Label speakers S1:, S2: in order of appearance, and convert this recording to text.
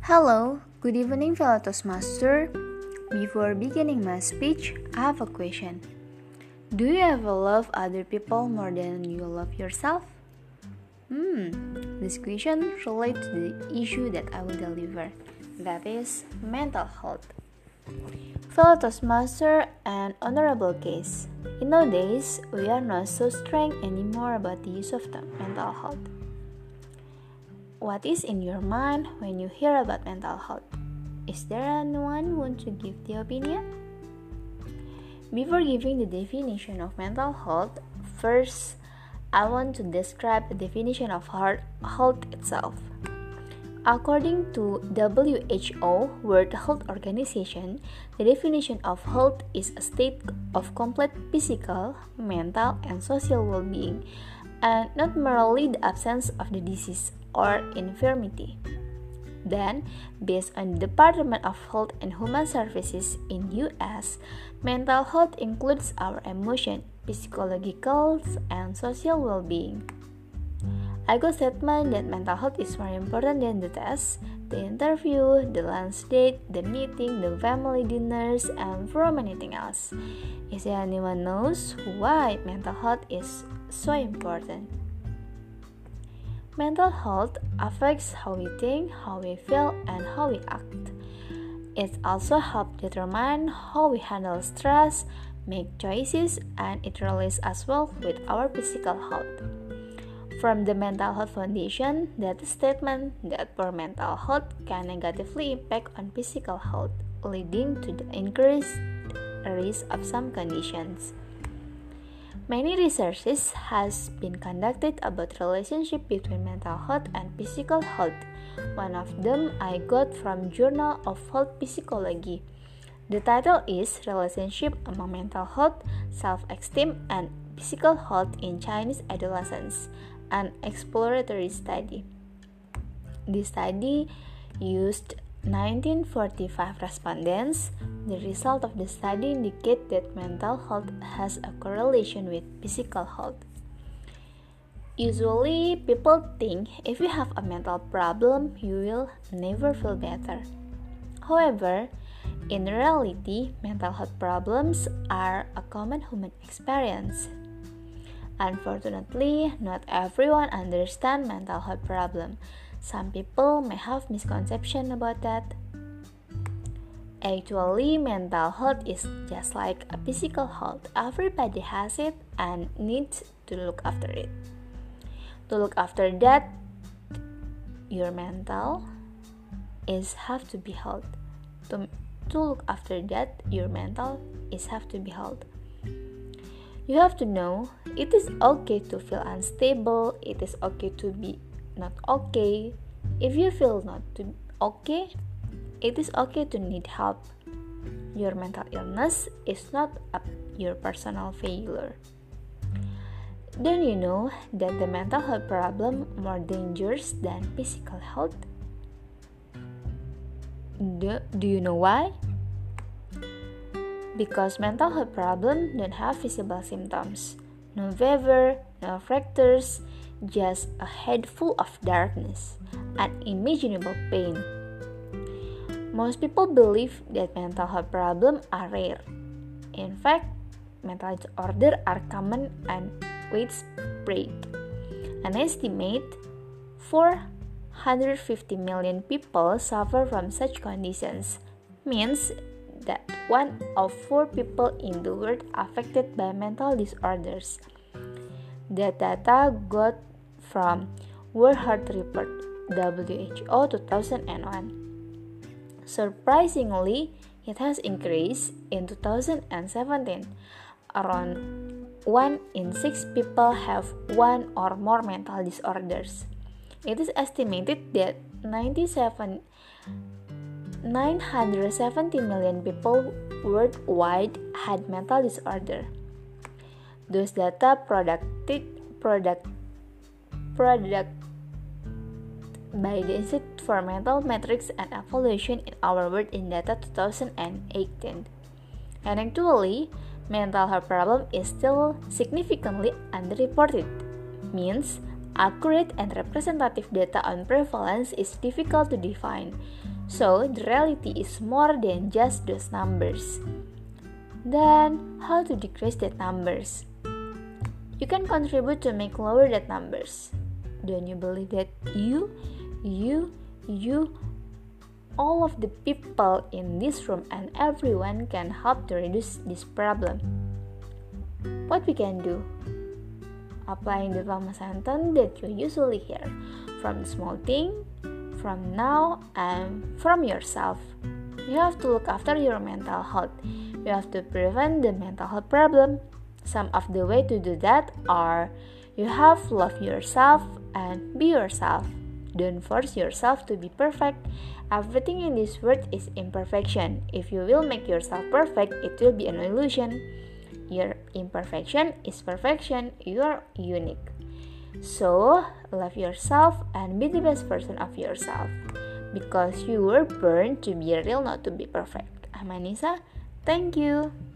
S1: Hello, good evening fellow Toastmaster. Before beginning my speech, I have a question. Do you ever love other people more than you love yourself? This question relates to the issue that I will deliver, that is mental health. Fellow Toastmaster and honorable case, in nowadays we are not so strict anymore about the use of the mental health. What is in your mind when you hear about mental health? Is there anyone who wants to give the opinion? Before giving the definition of mental health, first I want to describe the definition of health itself. According to WHO, World Health Organization, the definition of health is a state of complete physical, mental, and social well-being, and not merely the absence of the disease or infirmity. Then, based on the Department of Health and Human Services in US, mental health includes our emotion, psychological, and social well-being. I got statement that mental health is more important than the test, the interview, the lunch date, the meeting, the family dinners, and from anything else. Is there anyone knows why mental health is so important? Mental health affects how we think, how we feel, and how we act. It also helps determine how we handle stress, make choices, and it relates as well with our physical health. From the Mental Health Foundation, that statement that poor mental health can negatively impact on physical health, leading to the increased risk of some conditions. Many researches has been conducted about relationship between mental health and physical health. One of them I got from Journal of Health Psychology. The title is Relationship Among Mental Health, Self-Esteem, and Physical Health in Chinese Adolescents, an exploratory study. This study used 1945 respondents. The result of the study indicate that mental health has a correlation with physical health. Usually, people think if you have a mental problem, you will never feel better. However, in reality, mental health problems are a common human experience. Unfortunately, not everyone understands mental health problem. Some people may have misconception about that. Actually, mental health is just like a physical health. Everybody has it and needs to look after it. To look after that, your mental is have to be held. To look after that, your mental is have to be held. You have to know it is okay to feel unstable. It is okay to be not okay. If you feel not to okay, it is okay to need help. Your mental illness is not your personal failure. Don't you know that the mental health problem more dangerous than physical health? Do you know why? Because mental health problems don't have visible symptoms. No fever, no fractures, just a head full of darkness, unimaginable pain. Most people believe that mental health problems are rare. In fact, mental disorders are common and widespread. An estimate 450 million people suffer from such conditions, means that 1 of 4 people in the world affected by mental disorders. That data got from World Health Report WHO 2001. Surprisingly, it has increased in 2017. Around 1 in 6 people have 1 or more mental disorders. It is estimated that 970 million people worldwide had mental disorder. Those data product by the Institute for Mental Metrics and Evaluation in our world in data 2018. Anecdotally, mental health problem is still significantly underreported, means accurate and representative data on prevalence is difficult to define. So, the reality is more than just those numbers. Then, how to decrease that numbers? You can contribute to make lower that numbers. Don't you believe that you, all of the people in this room and everyone can help to reduce this problem? What we can do? Applying the Rama sentence that you usually hear from the small thing, from now, and from yourself. You have to look after your mental health. You have to prevent the mental health problem. Some of the way to do that are you have to love yourself and be yourself. Don't force yourself to be perfect. Everything in this world is imperfection. If you will make yourself perfect, it will be an illusion. Your imperfection is perfection. You are unique. So, love yourself and be the best version of yourself. Because you were born to be real, not to be perfect. I'm Anissa. Thank you.